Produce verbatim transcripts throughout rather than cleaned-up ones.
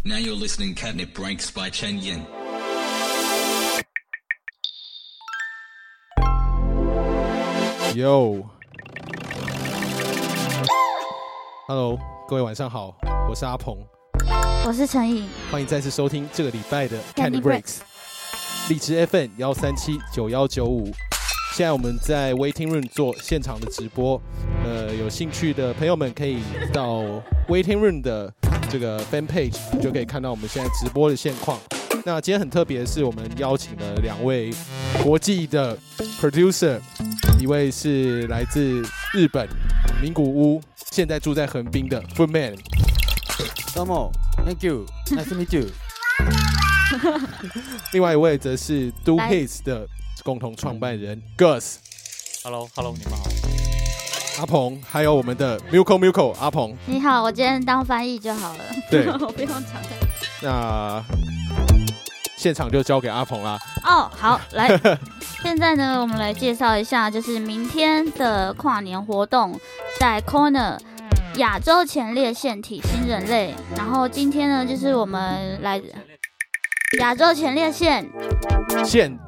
Now you're listening Catnip Breaks by Chen Yin. Yo Hello 各位晚上好，我是阿鹏， 我是陈颖， 欢迎再次收听这个礼拜的 Catnip Breaks 荔枝 F M 一三七九一九五。现在我们在 Waiting Room 做现场的直播，呃，有兴趣的朋友们可以到 Waiting Room 的这个 Fan Page 就可以看到我们现在直播的现况。那今天很特别的是，我们邀请了两位国际的 producer， 一位是来自日本名古屋，现在住在横滨的 Footman。 どうも ，Thank you， nice to meet you 。 另外一位则是 Do Hits 的共同创办人 Gus。Hello Hello， 你们好。 阿鹏，还有我们的 Milko Milko 阿鹏。 你好，我今天当翻译就好了。 对， 我不用讲太多。 那现场就交给阿鹏啦。 哦，好，来，现在呢，我们来介绍一下，就是明天的跨年活动，在 Corner 亚洲前列腺体新人类。然后今天呢，就是我们来亚洲前列腺线。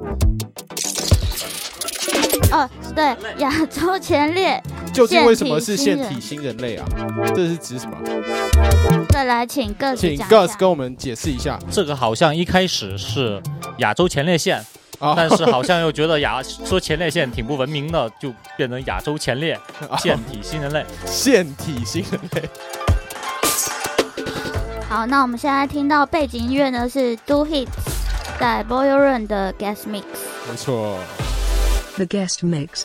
哦，对，亚洲前列。 究竟为什么是腺体新人类啊？这是指什么？ 再来，请 Gus 请讲 Gus 跟我们解释一下。 这个好像一开始是亚洲前列腺，哦、但是好像又觉得亚说前列腺挺不文明的，就变成亚洲前列腺体新人类。 腺体新人类。 好，那我们现在听到背景音乐呢是 Do Hits 在 Boiler Room 的 Guest Mix。 没错。 The Guest Mix。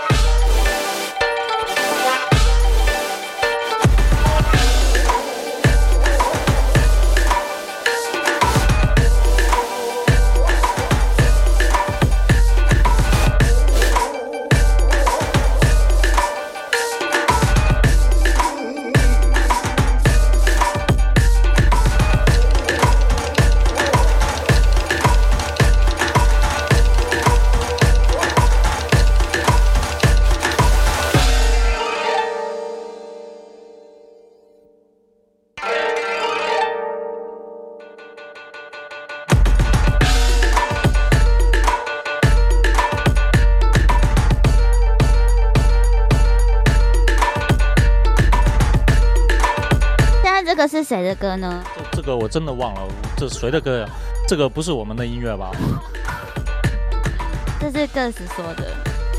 这个是谁的歌呢？ 这, 这个我真的忘了，这是谁的歌呀？这个不是我们的音乐吧？ 这是 Gus 说的。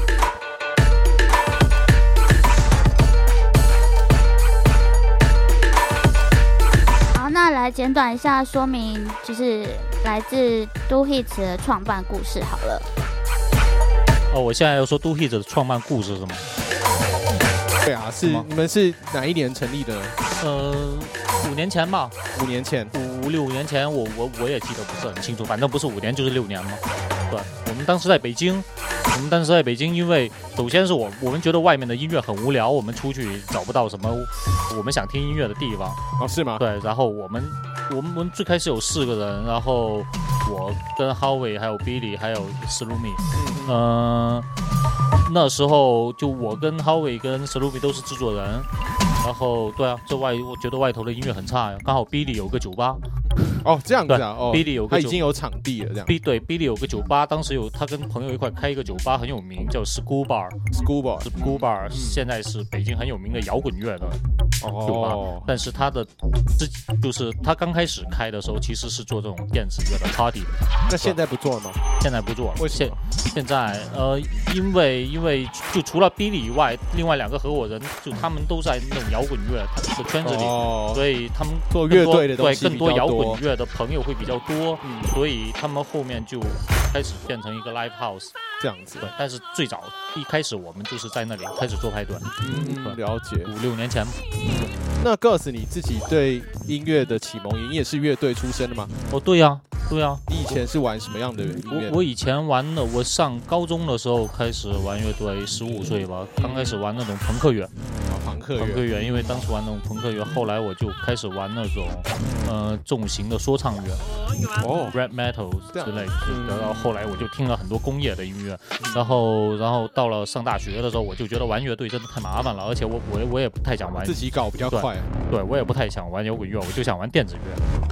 好，那来简短一下说明，就是来自 Do Hits 的创办故事好了。 哦，我现在要说 Do Hits 的创办故事是吗？ 对啊，是你们是哪一年成立的呢？ 呃，五年前吧， 五年前， 五五六年前，我我我也记得不是很清楚，反正不是五年就是六年嘛。对，我们当时在北京，我们当时在北京，因为首先是我我们觉得外面的音乐很无聊，我们出去找不到什么我们想听音乐的地方。 哦，是吗？ 对，然后我们我们我们最开始有四个人，然后我跟 Howie 还有 Billy 还有 Slumi， 嗯、呃，那时候就我跟 Howie 跟 Slumi 都是制作人。然后对啊，这外我觉得外头的音乐很差呀。刚好 Billy 有个酒吧， 哦这样子啊，哦 ，Billy 有个他已经有场地了，这样。 B 对 Billy 有个酒吧，当时有他跟朋友一块开一个酒吧，很有名，叫 School Bar。School Bar，School Bar，、嗯、现在是北京很有名的摇滚乐的酒吧。哦、但是他的自就是他刚开始开的时候，其实是做这种电子乐的 party 的。 那现在不做了吗？ 现在不做了。 为什么？ 现现在呃，因为因为就除了 Billy 以外，另外两个合伙人就他们都在那种摇滚乐的圈子里，哦、所以他们做乐队的东西对更多摇滚乐的朋友会比较多，嗯、所以他们后面就开始变成一个 live house 这样子。 对，但是最早一开始我们就是在那里开始做派对。 嗯，了解。 五六年前。 那 Gus 你自己对音乐的启蒙，你也是乐队出身的吗？ 哦，对呀、啊，对呀、啊。 你以前是玩什么样的音乐？ 我我以前玩的，我上高中的时候开始玩乐队，十五岁吧，刚开始玩那种朋克乐。 啊，朋克乐。 朋克乐，因为当时玩那种朋克乐，后来我就开始玩那种呃重型的说唱乐，哦 ，rap metal 之类的。然后后来我就听了很多工业的音乐，然后然后到了上大学的时候，我就觉得玩乐队真的太麻烦了，而且我我我也不太想玩自己搞比较快。 对，对我也不太想玩摇滚乐，我就想玩电子乐。 嗯。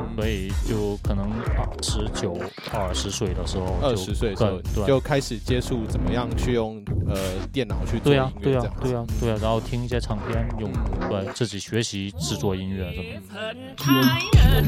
所以就可能十九、二十岁的时候， 二十岁的时候就开始接触怎么样去用呃电脑去做音乐， 对啊，对啊，对啊，对啊，然后听一些唱片，用对自己学习制作音乐什么的。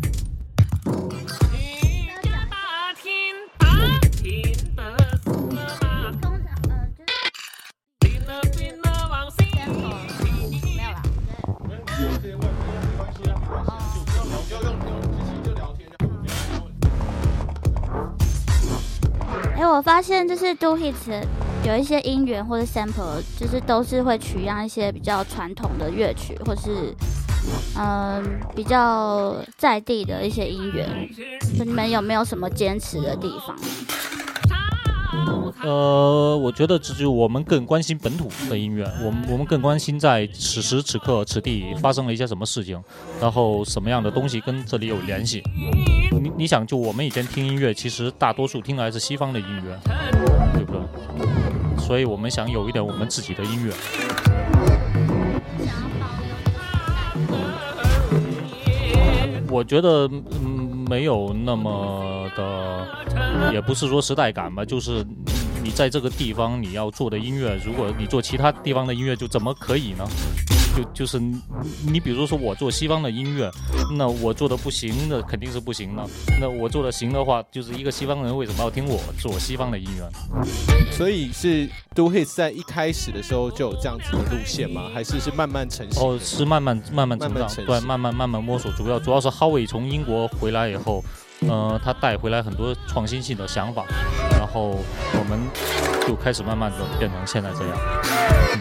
哎，我发现就是 Do Hits 有一些音源或者 sample， 就是都是会取样一些比较传统的乐曲，或是嗯比较在地的一些音源。你们有没有什么坚持的地方？ 呃，我觉得这就我们更关心本土的音乐，我们我们更关心在此时此刻此地发生了一些什么事情，然后什么样的东西跟这里有联系。你你想，就我们以前听音乐，其实大多数听的还是西方的音乐，对不对？所以我们想有一点我们自己的音乐。我觉得嗯没有那么的，也不是说时代感吧，就是你在这个地方你要做的音乐，如果你做其他地方的音乐，就怎么可以呢？就就是你, 你比如说我做西方的音乐，那我做的不行的肯定是不行的，那我做的行的话，就是一个西方人为什么要听我做西方的音乐？ 所以是 Do Hits 在一开始的时候就有这样子的路线吗？还是是慢慢成型？ 哦，是慢慢慢慢成长，对，慢慢慢慢摸索。主要主要是 Howie 从英国回来以后，呃，他带回来很多创新性的想法，然后我们就开始慢慢的变成现在这样。嗯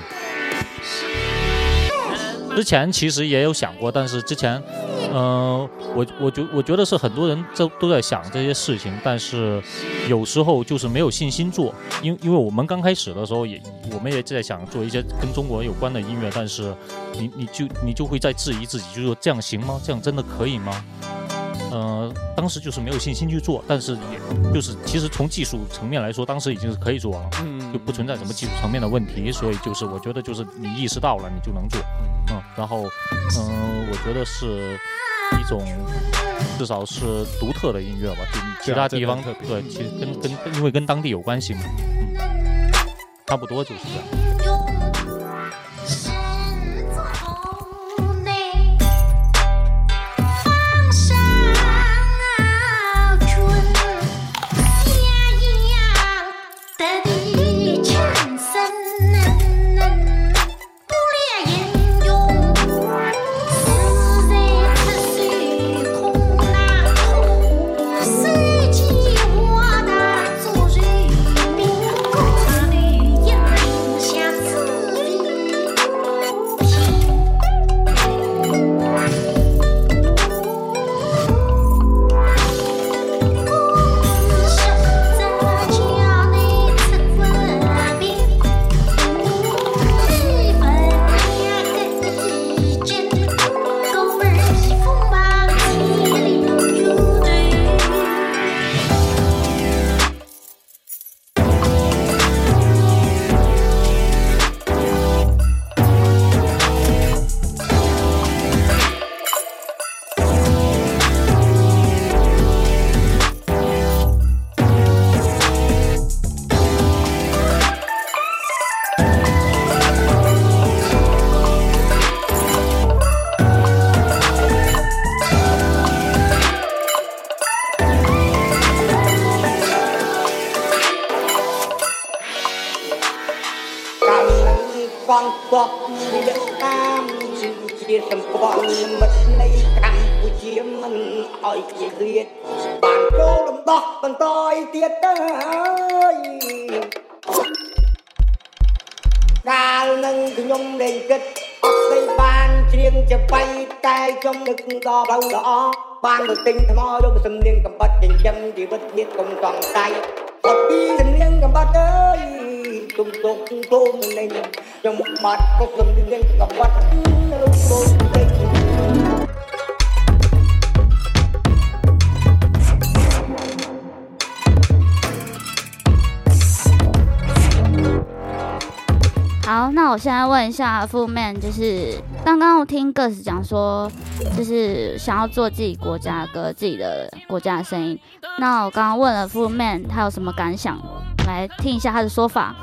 之前其实也有想过，但是之前，呃，我我觉我觉得是很多人都都在想这些事情，但是有时候就是没有信心做，因因为我们刚开始的时候也我们也在想做一些跟中国有关的音乐，但是你你就你就会在质疑自己，就是说这样行吗？这样真的可以吗？呃，当时就是没有信心去做，但是也就是其实从技术层面来说，当时已经是可以做了，嗯，就不存在什么技术层面的问题，所以就是我觉得就是你意识到了，你就能做，嗯，然后，嗯、呃，我觉得是一种至少是独特的音乐吧，就其他地方对，其实跟跟因为跟当地有关系嘛，嗯，差不多就是这样。 ban được tinh tham ho vô sầm liên cầm bắt chỉnh châm thì bất biết công toàn tay một đi sầm liên cầm bắt ơi tung tung tung tung lên trong một mặt có sầm liên cầm bắt tung 好，那我现在问一下Fu Man，就是刚刚我听 Gus 讲说，就是想要做自己国家的歌，自己的国家的声音。那我刚刚问了Fu Man，他有什么感想？来听一下他的说法。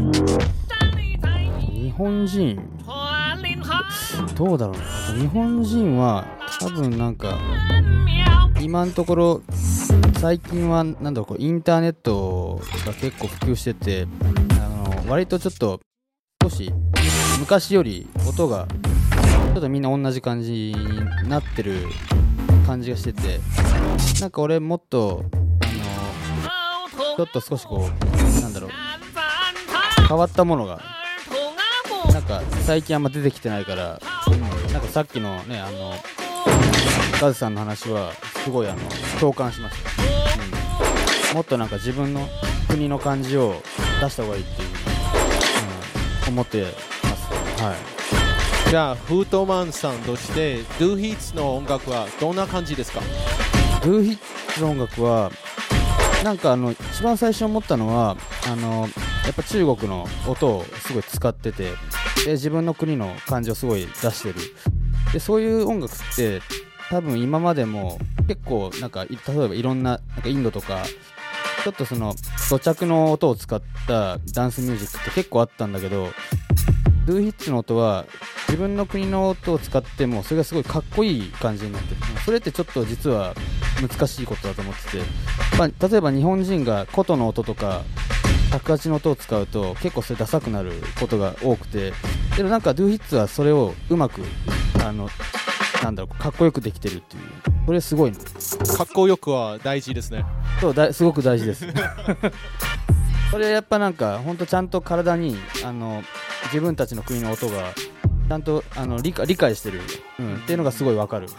日本人どうだろうな。日本人は多分なんか今のところ最近はなんだろう、こうインターネットが結構普及してて、あの割とちょっと少し昔より音がちょっとみんな同じ感じになってる感じがしてて、なんか俺もっとあのちょっと少しこうなんだろう変わったものがなんか最近あんま出てきてないから、なんかさっきのねあのガズさんの話はすごいあの共感しました、うん、もっとなんか自分の国の感じを出した方がいいっていう、うん、思ってます。はい。 じゃあフートマンさんとしてドゥーヒッツの音楽はどんな感じですか？ ドゥーヒッツの音楽はなんかあの一番最初思ったのはあのやっぱ中国の音をすごい使ってて、で自分の国の感じをすごい出してる。でそういう音楽って多分今までも結構なんか例えばいろんな、なんかインドとかちょっとその土着の音を使ったダンスミュージックって結構あったんだけど、ドゥーヒッツの音は自分の国の音を使ってもそれがすごいかっこいい感じになってる。それってちょっと実は難しいことだと思ってて、まあ、例えば日本人が琴の音とか尺八の音を使うと結構それダサくなることが多くて、でもなんかドゥーヒッツはそれをうまくあのなんだろうかっこよくできてるっていう、これすごいね。 かっこよくは大事ですね。 そうだ、すごく大事ですそれやっぱなんかほんとちゃんと体にあの自分たちの国の音がちゃんとあの 理, 解理解してる、うん、っていうのがすごいわかるっていう。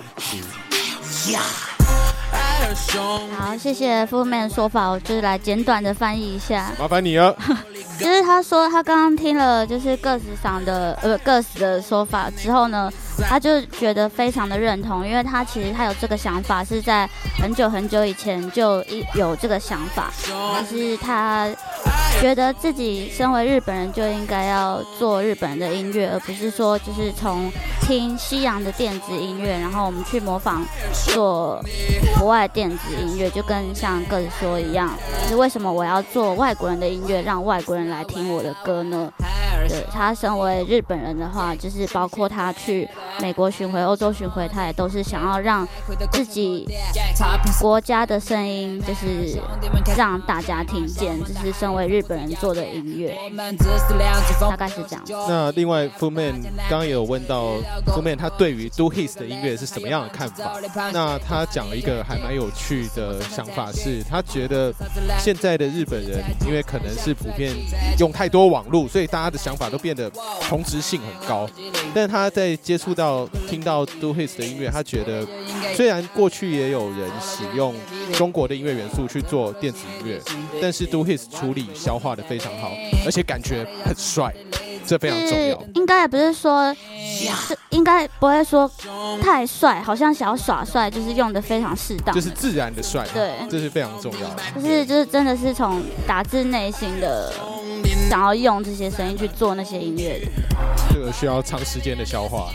好，谢谢Fu Man的说法，我就是来简短的翻译一下。 麻烦你了。 就是他说他刚刚听了就是个子上的呃个子的说法之后呢，他就觉得非常的认同，因为他其实他有这个想法是在很久很久以前就有这个想法，就是他觉得自己身为日本人就应该要做日本人的音乐，而不是说就是从听西洋的电子音乐，然后我们去模仿做国外电子音乐，就跟像个子说一样，就是为什么我要做外国人的音乐，让外国人来听我的歌呢？对，他身为日本人的话，就是包括他去美国巡回、欧洲巡回，他也都是想要让自己国家的声音，就是让大家听见，这是身为日本人做的音乐，大概是这样。 那另外 Fu Man 刚刚也有问到 Fu Man 他对于 Do His 的音乐是什么样的看法？那他讲了一个还蛮有趣的想法，是他觉得现在的日本人，因为可能是普遍用太多网络，所以大家的想法都变得同质性很高。但是他在接触到听到 Do His 的音乐，他觉得虽然过去也有人使用中国的音乐元素去做电子音乐，但是 Do His 处理消化的非常好，而且感觉很帅，这非常重要。 应该也不是说，应该不会说太帅，好像想要耍帅，就是用的非常适当， 就是自然的帅， 对， 这是非常重要的。 就是就是真的是从打自内心的想要用这些声音去做那些音乐的， 这个需要长时间的消化。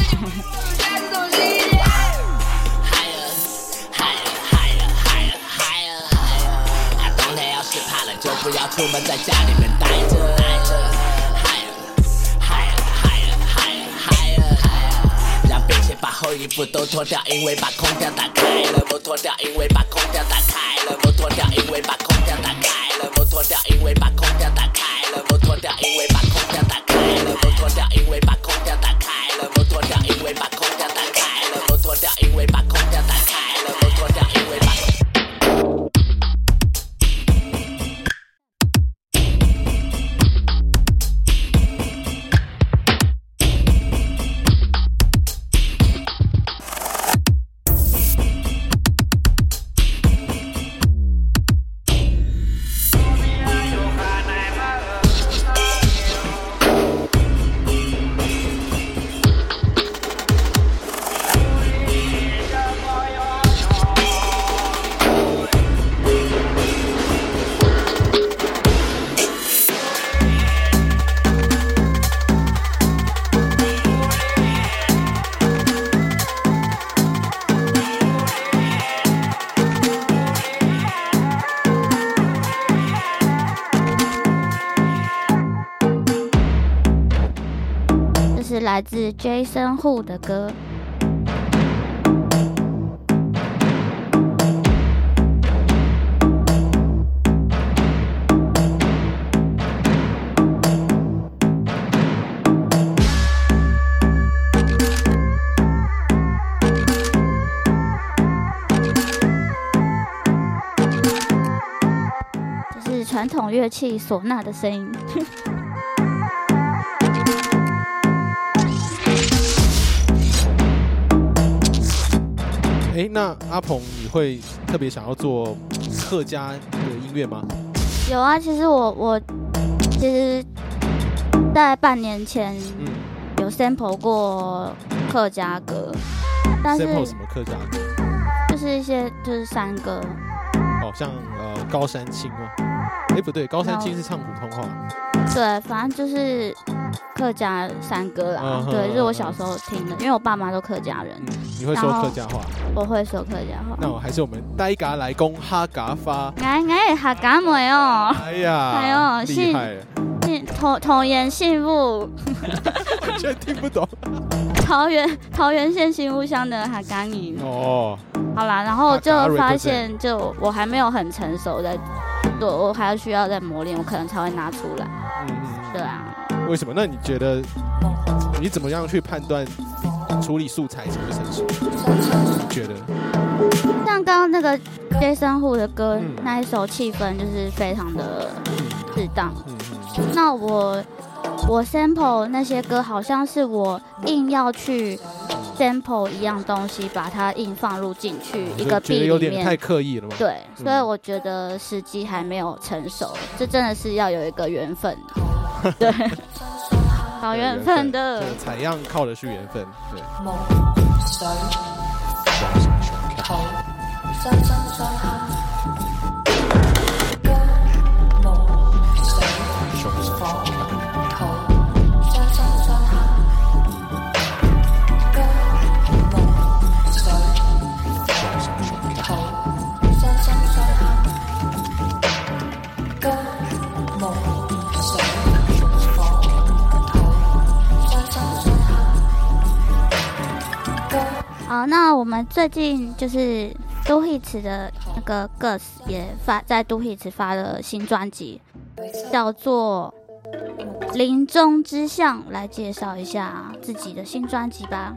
就不要出门，在家里面待着。让并且把厚衣服都脱掉，因为把空调打开了。不脱掉，因为把空调打开了。不脱掉，因为把空调打开了。不脱掉，因为把空调打开了。不脱掉，因为把空调打开了。不脱掉，因为把空调打开了。不脱掉，因为把空调打开了。不脱掉，因为把空调打开了。不脱掉，因为把来自 Jason Hu 的歌。这是传统乐器唢呐的声音。 哎，那阿鹏，你会特别想要做客家的音乐吗？ 有啊，其实我我其实，在半年前有 sample 过客家歌，但是 sample 什么客家歌？ 就是一些就是山歌。 哦，像呃高山青吗？哎，不对，高山青是唱普通话。 对，反正就是客家山歌啦。 嗯、 对，就是我小时候听的，因为我爸妈都客家人。 嗯、你会说客家话？ 我会说客家话。 那我还是我们呆嘎来攻哈嘎发。 哎哎，哈嘎妹哦！ 哎呀， 哎呦， 厉害了！ 姓童童言姓物， 完全听不懂。 桃园桃园县新屋乡的哈嘎语。 哦。 好啦，然后就发现，就我还没有很成熟在，对我还要需要再磨练，我可能才会拿出来。嗯嗯。对啊。 为什么？那你觉得你怎么样去判断处理素材什么成熟？你觉得？ 像刚刚那个 Jason Hu 的歌、嗯、那一首气氛就是非常的适当。嗯嗯、那我我 sample 那些歌，好像是我硬要去 sample 一样东西，把它硬放入进去一个 beat 里面， 有点太刻意了吗？ 对，所以我觉得时机还没有成熟，这真的是要有一个缘分。对，找缘分的采样靠的是缘分。对。相生相克，金木水火土，相生相克，金木水土，相生相克，金木水火土，相生相克。 好，那我们最近就是Do Hits 的那个 Gus 也发在Do Hits 发了新专辑，叫做《林中之象》，来介绍一下自己的新专辑吧。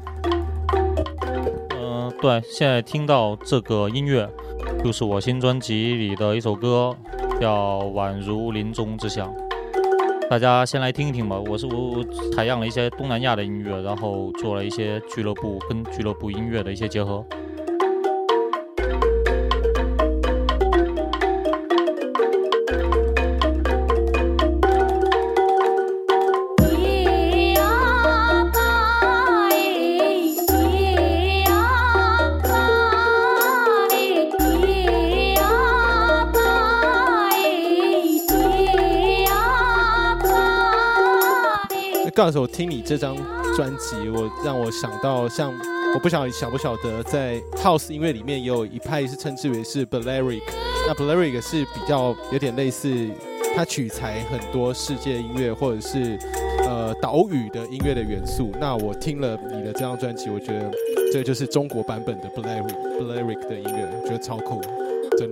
嗯、呃，对，现在听到这个音乐，就是我新专辑里的一首歌，叫《宛如林中之象》。大家先来听一听吧。我是我我采样了一些东南亚的音乐，然后做了一些俱乐部跟俱乐部音乐的一些结合。 刚才我听你这张专辑，我让我想到像我不晓得晓不晓得，在 House 音乐里面也有一派是称之为是 Balearic， 那 Balearic 是比较有点类似，它取材很多世界音乐或者是呃岛屿的音乐的元素。那我听了你的这张专辑，我觉得这就是中国版本的 Balearic Balearic 的音乐，我觉得超酷，真的。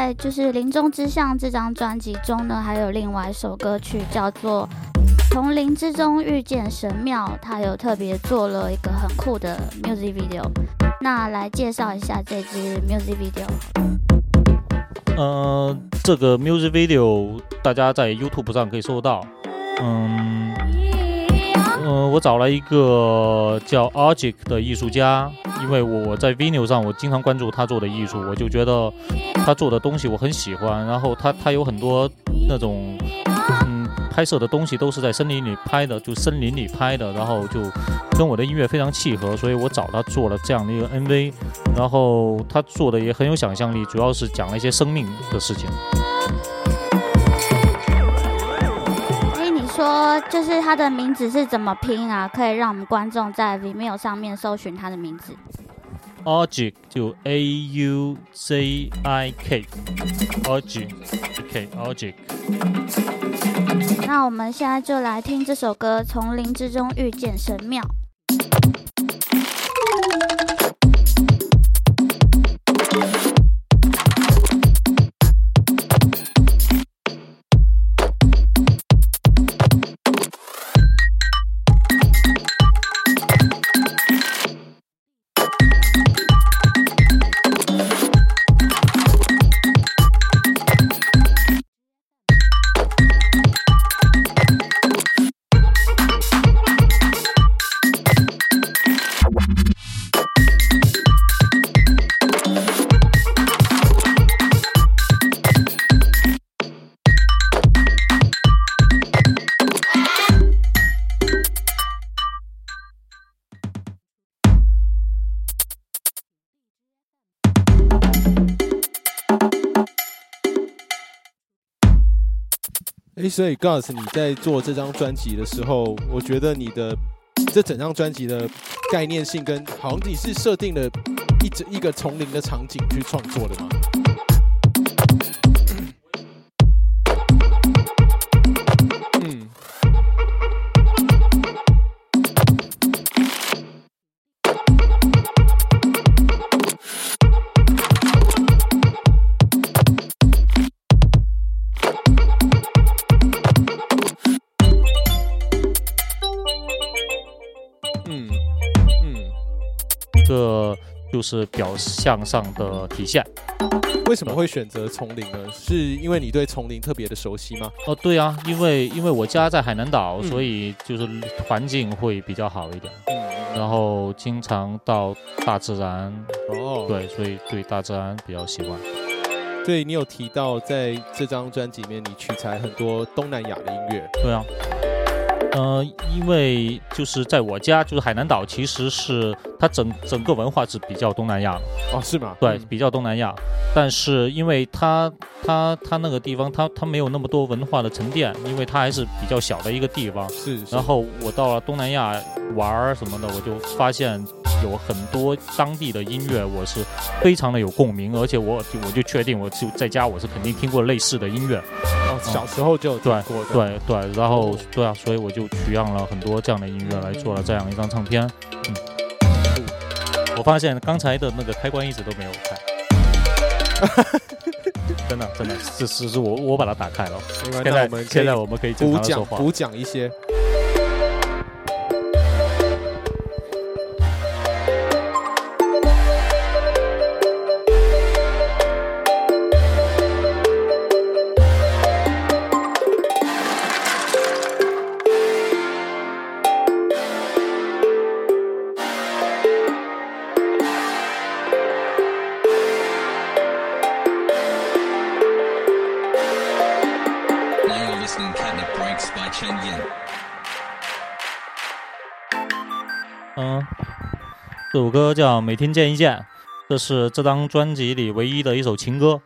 在就是《林中之象》这张专辑中呢，还有另外一首歌曲叫做《从林之中遇见神庙》，它有特别做了一个很酷的 music video。那来介绍一下这支 music video。 呃，这个 music video 大家在 YouTube 上可以搜到。嗯，呃，我找了一个叫 Argic 的艺术家，因为我在 Vimeo 上我经常关注他做的艺术，我就觉得他做的东西我很喜欢。然后他他有很多那种嗯拍摄的东西都是在森林里拍的，就森林里拍的，然后就跟我的音乐非常契合，所以我找他做了这样的一个 M V。然后他做的也很有想象力，主要是讲了一些生命的事情。 说就是他的名字是怎么拼啊？可以让我们观众在 Vimeo 上面搜寻他的名字。 Argic 就 A U Z I K，Argic，OK Argic。 那我们现在就来听这首歌《从林之中遇见神庙》。 哎，所以 Gus 你在做这张专辑的时候，我觉得你的这整张专辑的概念性跟好像你是设定了一整一个丛林的场景去创作的吗？嗯。 这就是表象上的体现。 为什么会选择丛林呢？是因为你对丛林特别的熟悉吗？ 哦，对啊，因为因为我家在海南岛， 嗯、 所以就是环境会比较好一点。 嗯， 然后经常到大自然。 哦， 对，所以对大自然比较喜欢。 所以你有提到在这张专辑里面，你取材很多东南亚的音乐。 对啊。呃，因为就是在我家，就是海南岛，其实是它整整个文化是比较东南亚的。 哦，是吗？ 对，比较东南亚。但是因为它它它那个地方，它它没有那么多文化的沉淀，因为它还是比较小的一个地方。 是。 然后我到了东南亚玩什么的，我就发现有很多当地的音乐，我是非常的有共鸣，而且我我就确定，我就在家我是肯定听过类似的音乐。 哦，小时候就有听过的。 对对对，然后对啊，所以我就取样了很多这样的音乐来做了这样一张唱片。嗯，我发现刚才的那个开关一直都没有开，真的真的，是是是我我把它打开了。现在我们现在我们可以正常地说话， 补讲一些。 嗯，这首歌叫《每天见一见》，这是这张专辑里唯一的一首情歌。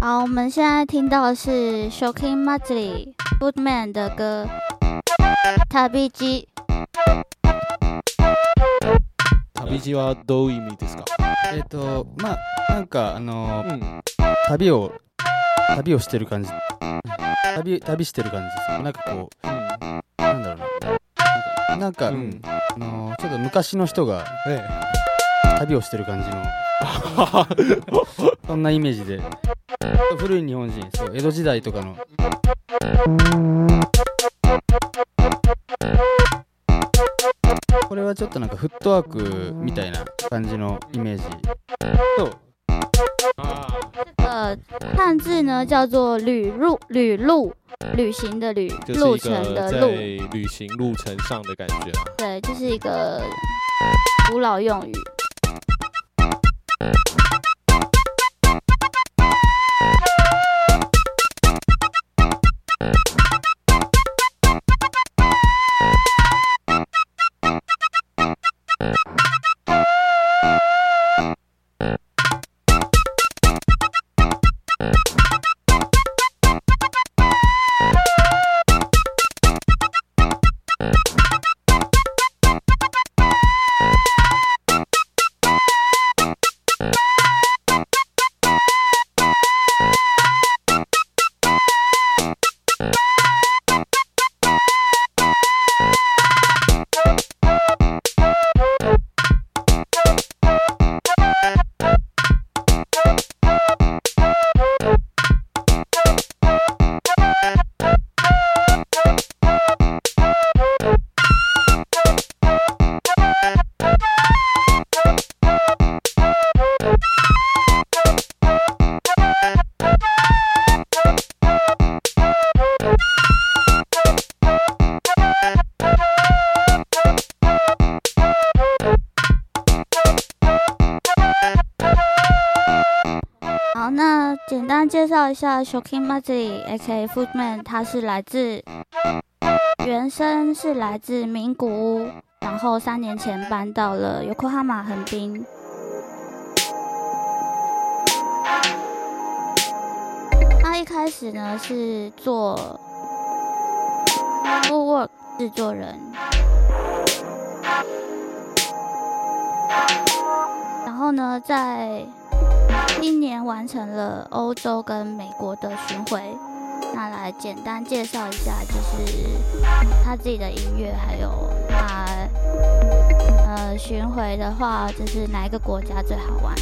好，我们现在听到的是 Shocking Matsuri Footman 的歌旅路。 旅路はどういう意味ですか？ えっ、ー、とまあなんかあのーうん、旅を旅をしてる感じ、旅旅してる感じですよ。なんかこう、うん、なんだろうな、なんか、うん、あのー、ちょっと昔の人が、ええ、旅をしてる感じのそんなイメージで、古い日本人、そう江戸時代とかの。これはちょっとなんかフットワークみたいな感じのイメージと。 这个汉字呢叫做旅路，旅路，旅行的旅，路程的路， 在旅行路程上的感觉。 对，这是一个古老用语。简单介绍一下 Shocking Matsuri A K A Footman， 他是来自原生是来自名古屋，然后三年前搬到了 Yokohama 横滨。他一开始呢是做 footwork 制作人，然后呢在今年完成了欧洲跟美国的巡回，那来简单介绍一下，就是他自己的音乐，还有他呃巡回的话，就是哪一个国家最好玩？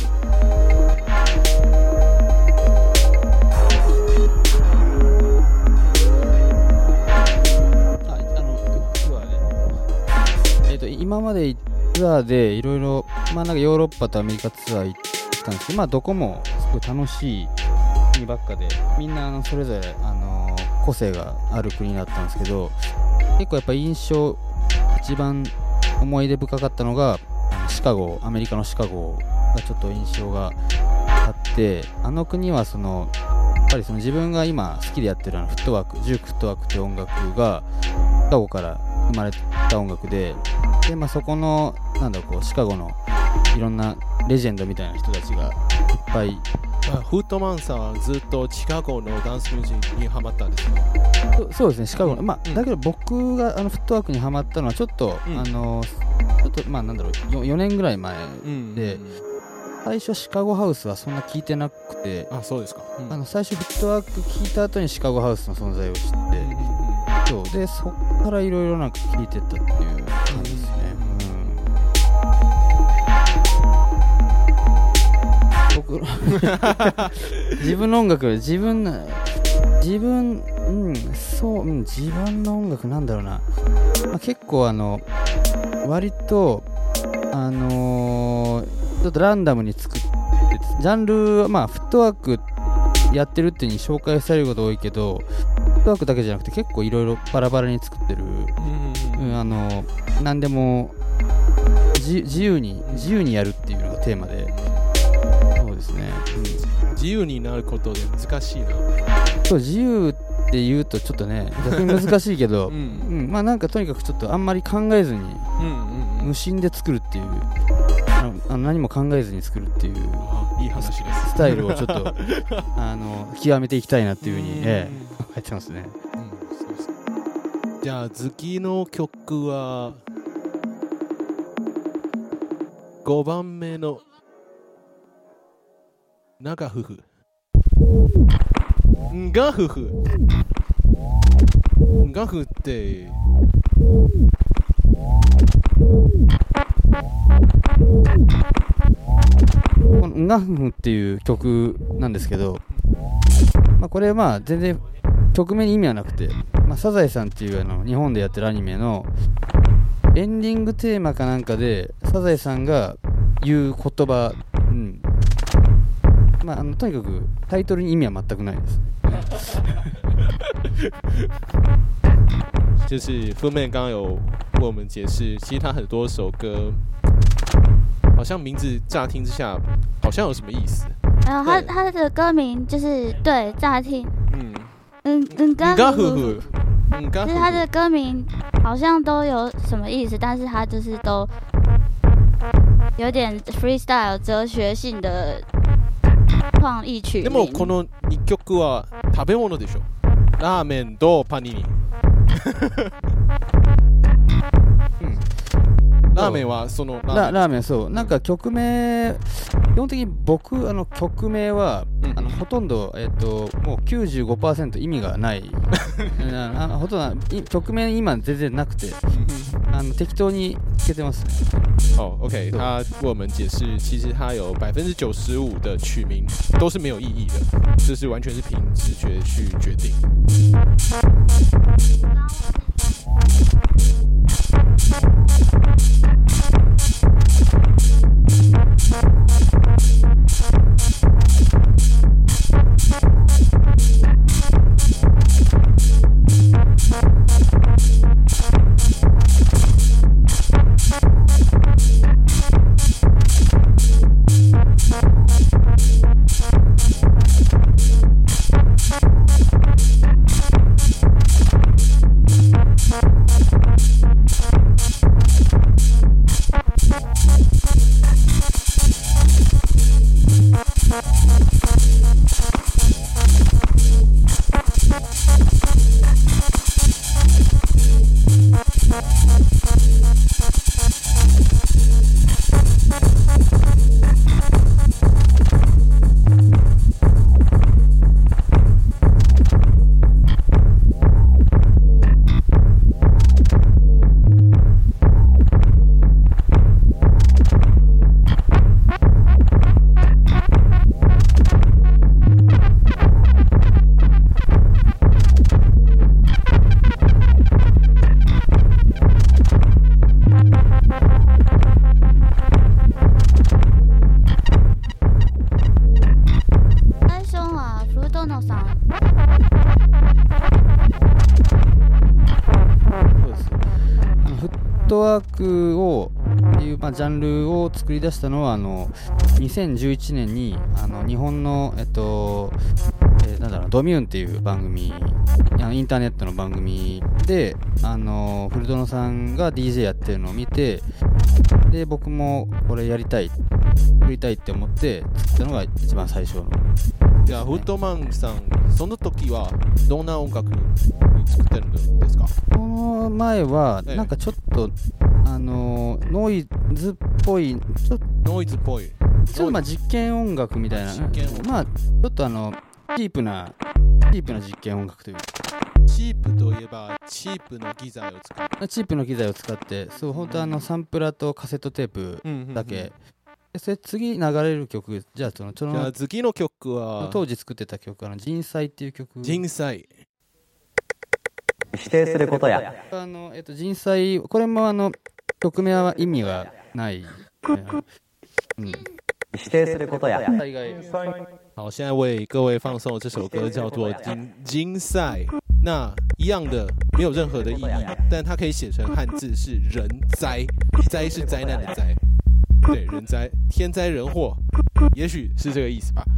あ、あのツアーで、えっと今までツアーでいろいろまあなんかヨーロッパとアメリカツアー行ったんですけど、まあどこもすごい楽しい国ばっかで、みんなあのそれぞれあの個性がある国だったんですけど、結構やっぱ印象一番思い出深かったのがシカゴ、アメリカのシカゴがちょっと印象があって、あの国はそのやっぱりその自分が今好きでやってるあのフットワーク、ジュークフットワークという音楽がシカゴから生まれた音楽で、で、まあ、そこのなんだろうこうシカゴのいろんなレジェンドみたいな人たちがいっぱい。 フットマンさんはずっとシカゴのダンスミュージックにハマったんですか？ そ, そうですね、シカゴの、まあ、うん、だけど僕があのフットワークにハマったのはちょっと、うん、あのちょっとまあなんだろう 4, よねんぐらい前で、うん、最初シカゴハウスはそんな聞いてなくて、 あ、そうですか、うん、あの最初フットワーク聞いた後にシカゴハウスの存在を知って、うん、そうでそっからいろいろなんか聞いてったっていう感じですね、うん、僕自分の音楽自分自分うんそう、うん、自分の音楽なんだろうな、まあ、結構あの割とあのー、ちょっとランダムに作ってジャンルはまあフットワークやってるっていう風に紹介されること多いけど、フットワークだけじゃなくて結構いろいろバラバラに作ってる、うん、あの何でも自由に自由にやるっていうのがテーマで、そうですね、 うん、自由になることで難しいな。 そう、自由って言うとちょっとね逆に難しいけど、うんうん、まあなんかとにかくちょっとあんまり考えずに、うんうんうん、無心で作るっていうあのあの何も考えずに作るっていういい話です。 スタイルをちょっとあの極めていきたいなっていうふうに、ええ、考えてますね。 うん、そうです。じゃあ次の曲はごばんめの長夫婦んが夫婦んが夫婦ってこのンガフムっていう曲なんですけど、まあ、これはまあ全然曲名に意味はなくて、まあ、サザエさんっていうあの日本でやってるアニメのエンディングテーマかなんかでサザエさんが言う言葉、うん、まあ、あのとにかくタイトルに意味は全くないです。 就是Fu Man刚刚有为我们解释，其实他很多首歌好像名字乍听之下好像有什么意思。 然后他他的歌名就是对乍听，嗯嗯嗯， 刚刚呵呵，嗯， 就是他的歌名好像都有什么意思，但是他就是都有点 freestyle 哲学性的创意曲名。 でもこのにきょくは食べ物でしょ。ラーメンとパニニ。うん、ラーメンはそのラーメン、そうなんか曲名基本的に僕あの曲名は、うん、あのほとんど、えー、ともう きゅうじゅうごパーセント 意味がないあのほとんど曲名今全然なくてあの適当につけてますね。 哦 ，OK， 他为我们解释，其实他有百分之九十五的曲名都是没有意义的，就是完全是凭直觉去决定。 フットワークをいう、まあ、ジャンルを作り出したのはあのにせんじゅういちねんにあの日本の、えっとえー、なんだろうドミューンっていう番組あのインターネットの番組であのフルドノさんが ディージェー やってるのを見てで僕もこれやりたい作りたいって思って作ったのが一番最初の。 じゃあフットマンさんその時はどんな音楽作ってるんですか？ この前はなんかちょっと、ええ、あのノイズっぽいちょっとノイズっぽいちょっとまあ実験音楽みたいなまあちょっとあのチープなチープな実験音楽というチープといえばチープの機材を使ってチープの機材を使ってそう本当あのサンプラーとカセットテープだけ、うんうんうんそれ次流れる曲じゃあそのそのじゃあ次の曲は当時作ってた曲あの人災っていう曲人災否定することやあの、えっと、人災これもあの曲名は意味がない、 うん、否定することや好现在为各位放送这首歌叫做金金赛那一样的没有任何的意义但它可以写成汉字是人灾灾是灾难的灾对人灾天灾人祸也许是这个意思吧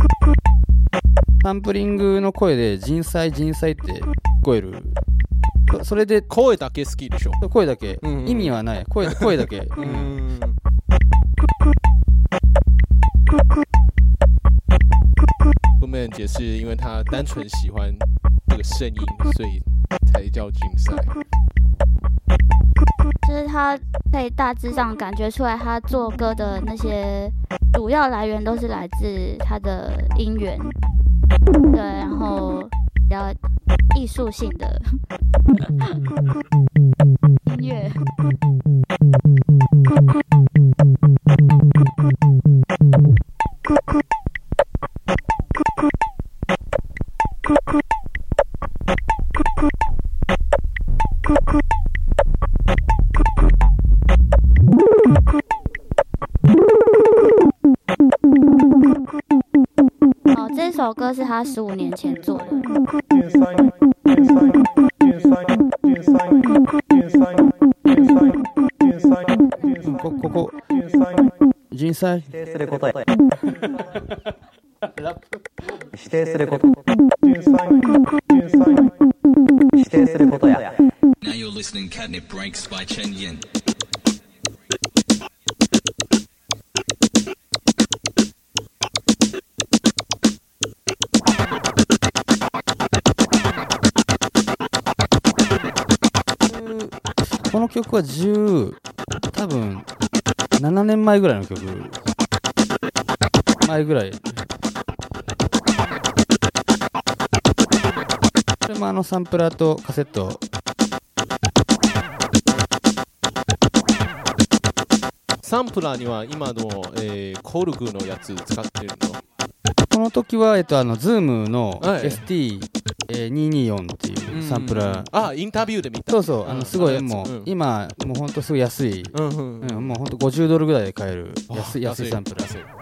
サンプリングの声で人災人災って聞こえるそれで声だけ好きでしょ。 声だけ、 嗯意味はない。声声だけ。 嗯。Fullman 解释，因为他单纯喜欢这个声音，所以才叫竞赛。 就是他可以大致上感觉出来，他做歌的那些主要来源都是来自他的音源，对，然后比较艺术性的音乐。哦，这首歌是他十五年前做的。 こここ人災否定することや否定すること否定することや Now you're listening Catnip Breaks by Chen Yin. この曲はじゅう多分ななねんまえぐらいの曲前ぐらい。これもあのサンプラーとカセット。 サンプラーには今の、えー、コルグのやつ使ってるの？ この時は、えっと、あの、ズームのはいエスティーにひゃくにじゅうよん っていうサンプラー。 あ、インタビューで見た。 そうそう、あの、すごい、もう、 うん、 今、もうほんとすごい安い、 うんうんうんうん、もうほんとごじゅうドルぐらいで買える安い、安いサンプラー。 安い。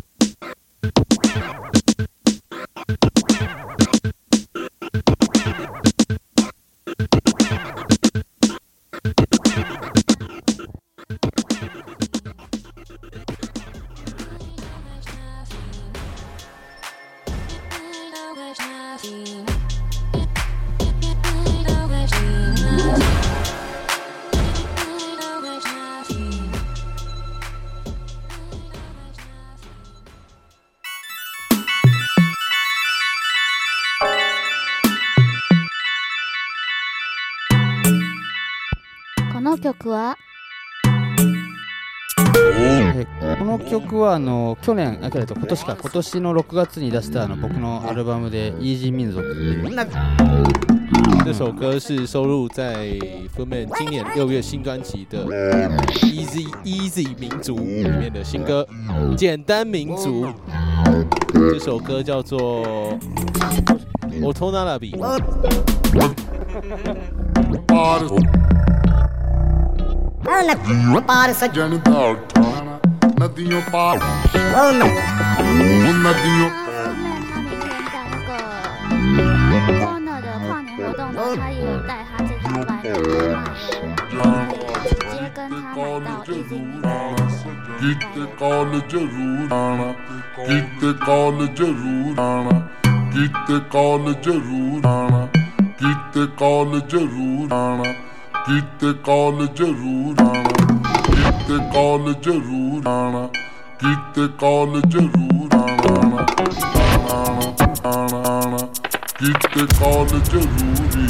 この曲はえこの曲はあの去年あ、今年か今年のろくがつに出したあの僕のアルバムでイージー民族っていう。 这首歌是收录在 Fullman 今年六月新专辑的 Easy Easy 民族里面的新歌《简单民族》。这首歌叫做 Otonarabi。 पार सजन दा उठाना नदियों पार नदियों 他明天在那个 Corner 的跨年活动呢，他也有带他这套版的卖了，直接跟他买到 Easy किते कॉल जरूर आना किते कॉल जरूर आना किते कॉल जरूर आना किते कॉल जरूर आना किते कॉल जरूर आना किते कॉल जरूर आना किते कॉल जरूर आना आना आना किते कॉल जरूरी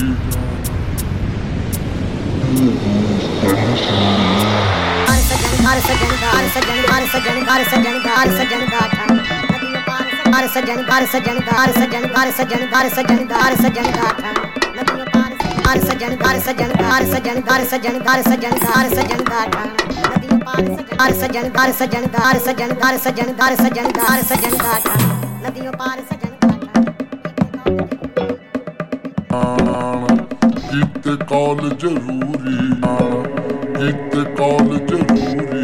हर सजन हर सजन हर सजन हर सजन हर सजन गाथा हर सजन हर सजन हर सजन हर सजन हर सजन हर सजन गाथा हर सजन हर सजन हर सजन हर सजन हर सजन हर सजन गाथा हर सजन हर सजन हर सजन हर सजन हर सजन हर सजन गाथा नदियों पार सजन किते कॉल जरूरी किते कॉल जरूरी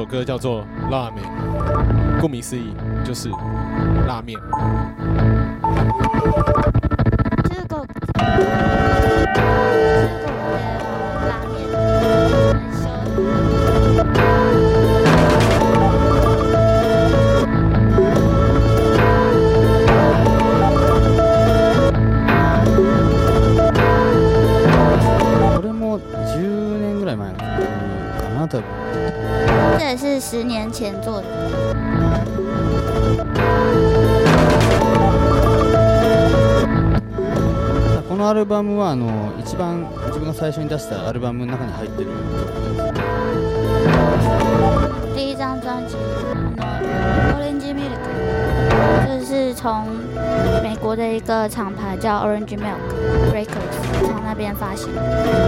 歌叫做《拉面》，顾名思义就是拉面。 这个这个拉面很凶。 これもじゅうねんぐらい前の曲かな多分。 这也是十年前做的。 このアルバムはあの一番自分が最初に出したアルバムの中に入ってる曲です。 第一张专辑《Orange Milk》，就是从美国的一个厂牌叫 Orange Milk Records 从那边发行。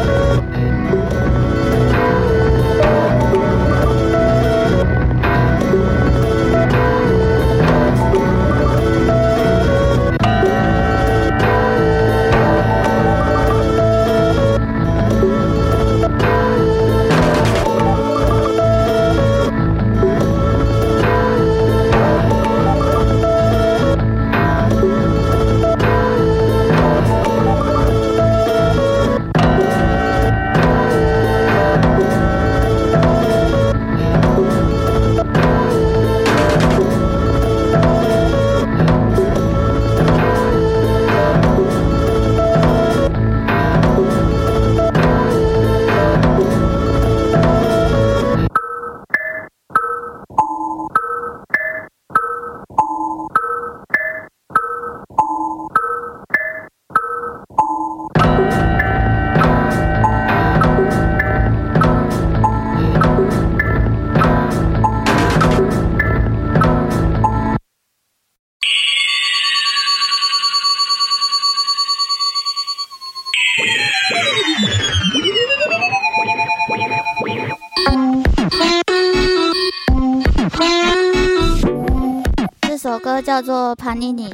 这首歌叫做《Panini》。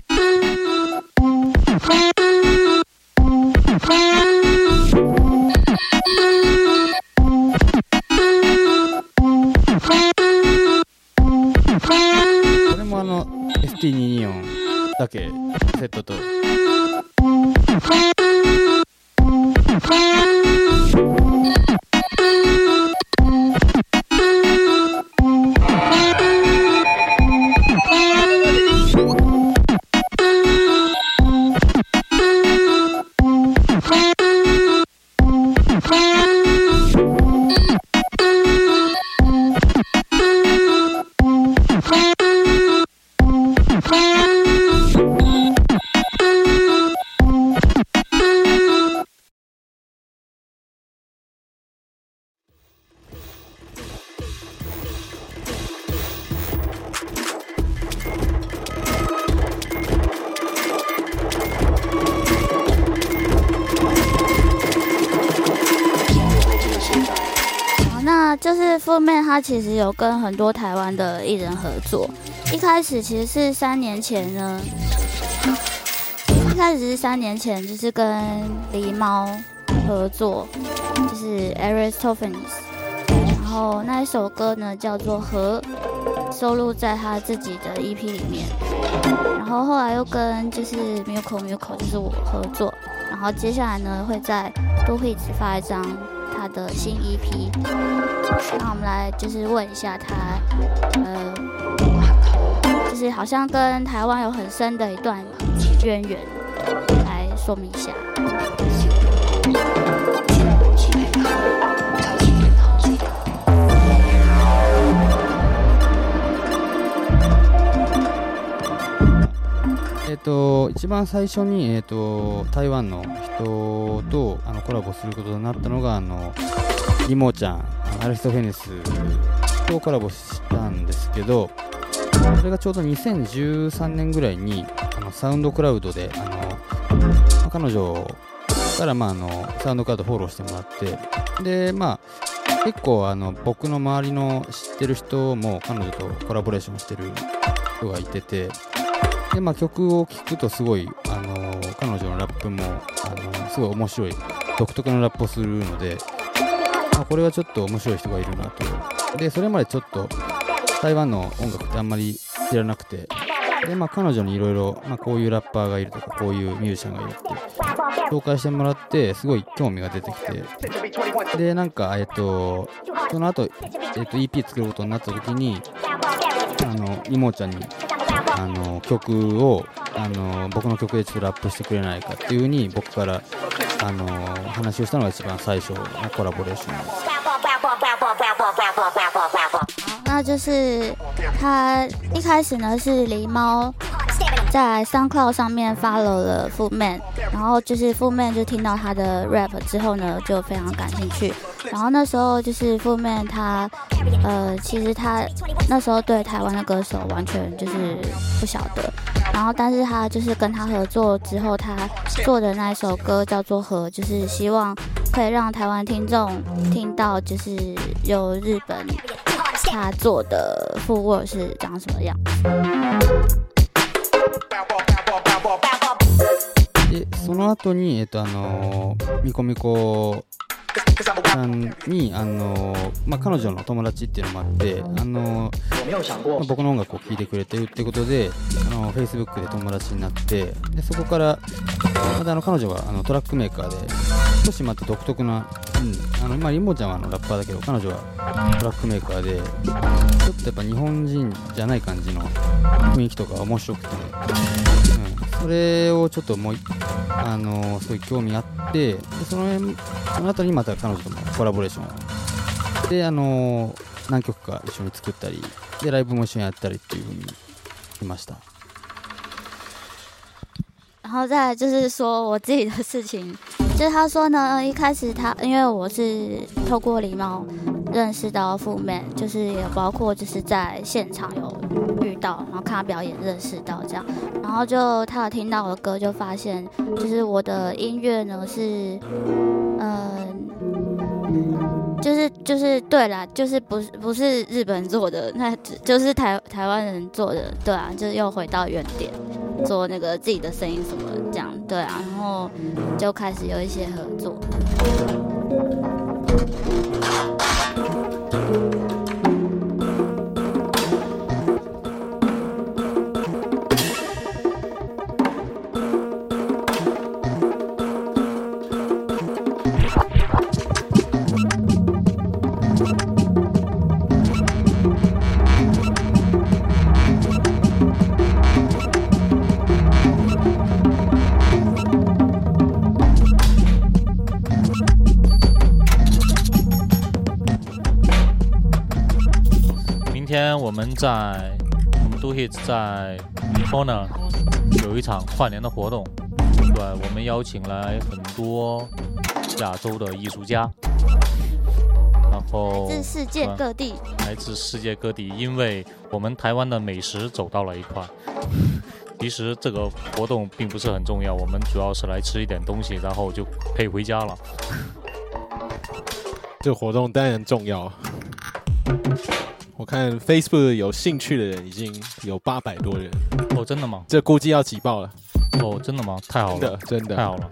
これもあの エスティーにひゃくにじゅうよん だけセットと。 那就是 Footman 他其实有跟很多台湾的艺人合作，一开始其实是三年前呢，一开始是三年前就是跟狸猫合作，就是 Aristophanes， 然后那一首歌呢叫做《和》，收录在他自己的 E P 里面，然后后来又跟就是 Muko Muko 就是我合作，然后接下来呢会在都会只发一张他的新 E P， 那我们来就是问一下他，呃，就是好像跟台湾有很深的一段渊源，来说明一下。 えっと一番最初に、えっと台湾の人とあのコラボすることになったのがあのリモちゃん、アリストフェネスとコラボしたんですけど、それがちょうどにせんじゅうさんねんぐらいにあのサウンドクラウドであの、まあ、彼女からまああのサウンドクラウドフォローしてもらって、でまあ結構あの僕の周りの知ってる人も彼女とコラボレーションしてる人がいてて。でまあ、曲を聴くとすごい、あのー、彼女のラップも、あのー、すごい面白い独特のラップをするので、 あ、これはちょっと面白い人がいるなと。でそれまでちょっと台湾の音楽ってあんまり知らなくて、で、まあ、彼女にいろいろこういうラッパーがいるとかこういうミュージシャンがいるって紹介してもらってすごい興味が出てきて、でなんかえっとその後、えっと イーピー 作ることになった時にあのイモちゃんにあの曲をあの僕の曲でちょっとラップしてくれないかっていう風に僕からあの話をしたのが一番最初のコラボレーションです。 那就是他一开始呢是狸猫在 SoundCloud 上面 follow 了 Footman， 然后就是 Footman 就听到他的 rap 之后呢就非常感兴趣，然后那时候就是 Footman 他呃其实他那时候对台湾的歌手完全就是不晓得，然后但是他就是跟他合作之后，他做的那一首歌叫做和，就是希望可以让台湾听众听到就是由日本他做的footwork是长什么样子。 でその後にえっとあのミコミコさんにあの、まあ、彼女の友達っていうのもあってあの、まあ、僕の音楽を聴いてくれてるってことであの Facebook で友達になって、でそこからまたあの彼女はあのトラックメーカーで少しまた独特な、うん、あの今リンボちゃんはあのラッパーだけど彼女はトラックメーカーでちょっとやっぱ日本人じゃない感じの雰囲気とか面白くて、うん、それをちょっともうあのすごい興味あって、でその辺その後にまた彼女ともコラボレーションであの何曲か一緒に作ったりでライブも一緒にやったりっていう風にしました。 然后再来就是说我自己的事情，就是他说呢，一开始他因为我是透过狸猫认识到Footman，就是也包括就是在现场有遇到，然后看他表演认识到这样，然后就他有听到我的歌，就发现就是我的音乐呢是，嗯、呃。就是就是对啦，就是不是不是日本做的，那就是台台湾人做的，对啊，就是又回到原点，做那个自己的声音什么这样，对啊，然后就开始有一些合作。 今天我们在我们 Do Hits 在 Corner 有一场跨年的活动，对，我们邀请来很多亚洲的艺术家，然后来自世界各地， 来自世界各地，因为我们台湾的美食走到了一块。其实这个活动并不是很重要，我们主要是来吃一点东西，然后就可以回家了。 这个活动当然重要。我看 Facebook 有兴趣的人已经有八百多人哦，真的吗？ 这估计要挤爆了哦，真的吗？太好了， 真的真的太好了。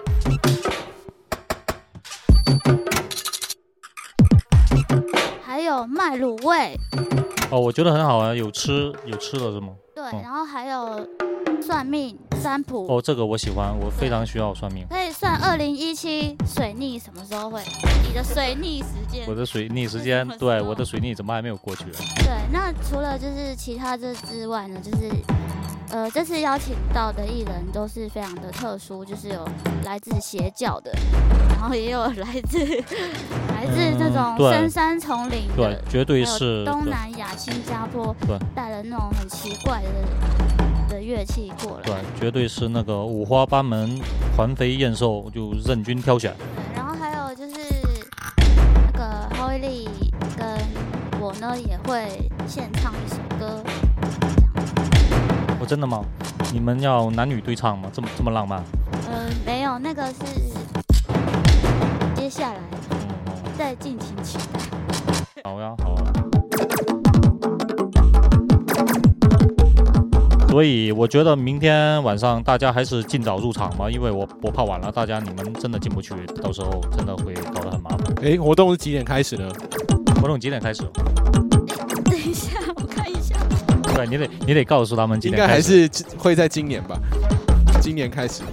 还有卖卤味哦，我觉得很好啊，有吃有吃的是吗？ 对，嗯、然后还有算命占卜哦，这个我喜欢，我非常需要算命。 可以算二零一七水逆什么时候会？你的水逆时间？ 我的水逆时间，对，我的水逆怎么还没有过去？ 对，那除了就是其他这之外呢，就是呃这次邀请到的艺人都是非常的特殊，就是有来自邪教的，然后也有来自来自那种深山丛林的， 对，绝对是东南亚、新加坡， 对， 带了那种很奇怪的。的乐器过来， 对，绝对是那个五花八门、环肥燕瘦，就任君挑选。 然后还有就是那个 Howie Lee 跟我呢也会献唱一首歌。 哦，真的吗？你们要男女对唱吗？这么这么浪漫？ 呃，没有，那个是接下来，嗯、再敬请期待。 好呀，好呀。 所以我觉得明天晚上大家还是尽早入场吧，因为我我怕晚了，大家你们真的进不去，到时候真的会搞得很麻烦。 哎，活动是几点开始呢？ 活动几点开始？ 等一下，我看一下。 对，你得你得告诉他们几点开始。 应该还是会在今年吧，今年开始。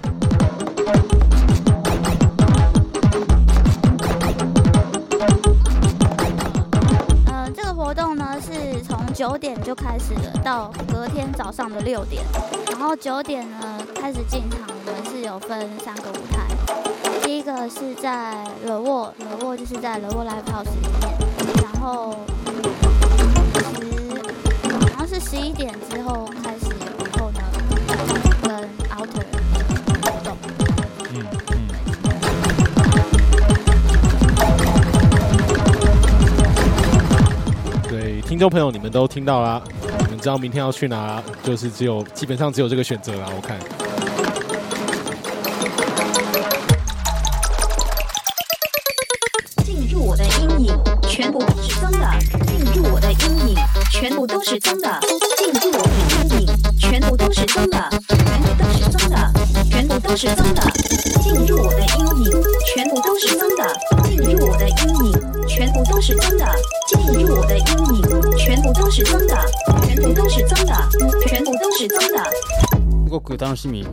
呃，这个活动呢是从九点就开始了，到隔天早上的六点。然后九点呢开始进场，我们是有分三个舞台。第一个是在惹沃，惹沃就是在惹沃 Live House 里面，然后十好像是十一点之后开始以后呢，跟 Outer 活动。 嗯嗯。 对，听众朋友你们都听到啦，你们知道明天要去哪啦，就是只有基本上只有这个选择啦，我看。 全部都是脏的，进入我的阴影，全部都是脏的，进入我的阴影，全部都是脏的，全部都是脏的，全部都是脏的，进入我的阴影，全部都是脏的，进入我的阴影，全部都是脏的，进入我的阴影，全部都是脏的，全部都是脏的，全部都是脏的。 すごく楽しみ。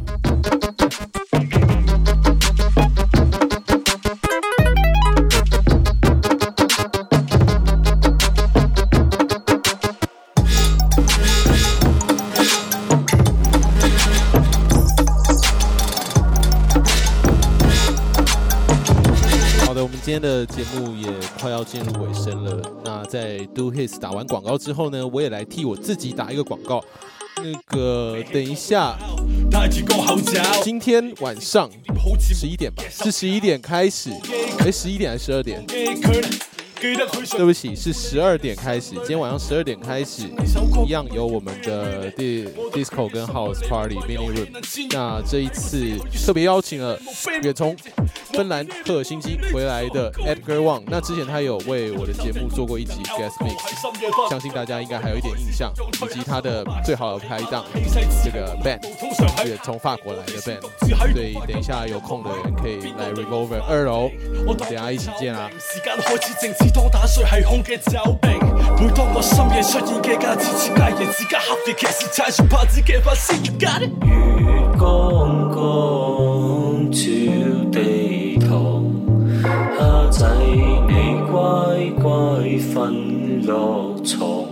今天的节目也快要进入尾声了。那在 Do His 打完广告之后呢，我也来替我自己打一个广告。那个，等一下，今天晚上十一点吧，是十一点开始，哎，十一点还是十二点？对不起，是十二点开始。今天晚上十二点开始，一样有我们的 Disco 跟 House Party Mini Room。那这一次特别邀请了远从芬兰赫尔辛基回来的 Edgar Wang。那之前他有为我的节目做过一集 Guest Mix， 相信大家应该还有一点印象，以及他的最好的拍档这个 band， 远从法国来的 band。所以等一下有空的人可以来 Revolver 二楼，我们等一下一起見啦。當打碎係空嘅酒瓶，每當我深夜出現嘅假設設計人自家黑嘅騎士踩住拍子嘅發絲月間。月光光照地堂，蝦仔你乖乖瞓落床。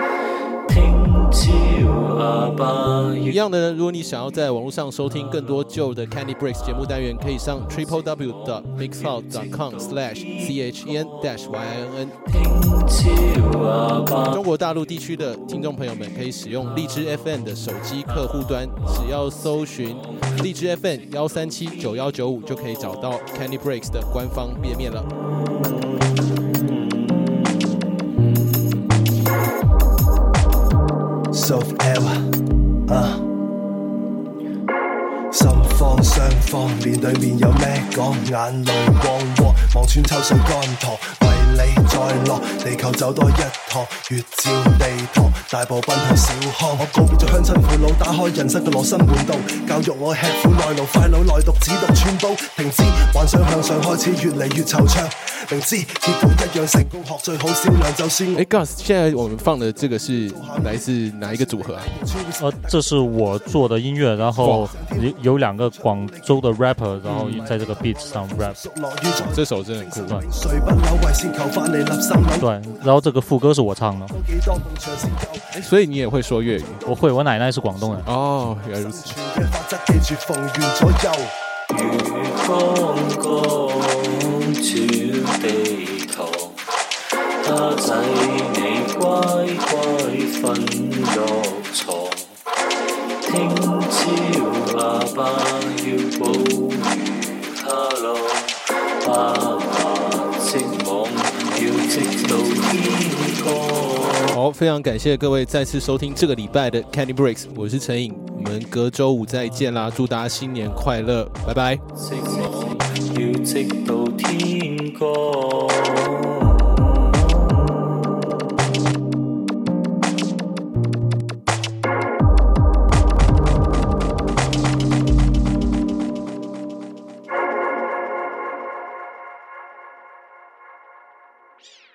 一樣的，如果你想要在網絡上收聽更多舊的 Candy Breaks 節目單元，可以上 triple w dot mixcloud dot com slash c h e n dash y i n n。中國大陸地區的聽眾朋友們可以使用荔枝 F M 的手機客戶端，只要搜尋荔枝 F M 一三七九一九五就可以找到 Candy Breaks 的官方頁面了。 Soft L 啊，心慌雙方面對面有咩講？眼淚汪汪，望穿秋水乾塘，為你再落地球走多一趟，越照地堂，大步奔向小康。我告別咗鄉親父老，打開人生嘅羅生門道，教育我吃苦耐勞，快腦耐讀只讀穿煲，停止幻想向上開始越嚟越惆悵。明知結果一樣成功學最好銷量就算。 哎 ，Gus， 現在我們放的這個是來自哪一個組合啊？ 呃，這是我做的音樂，然後有有兩個廣州的 rapper， 然後在這個 beat 上 rap。 這首真的很酷。 對，然後這個副歌是我唱的。 所以你也會說粵語？ 我會，我奶奶是廣東人。 哦，原來如此。 月光光照地堂，蝦仔你乖乖瞓落床，聽朝阿爸要捕魚蝦咯，爸爸織網要織到天光。 好，非常感謝各位再次收聽這個禮拜的 Candy Breaks， 我是陳穎。我們隔週五再見啦！祝大家新年快樂，拜拜。要直到天光。 Bye.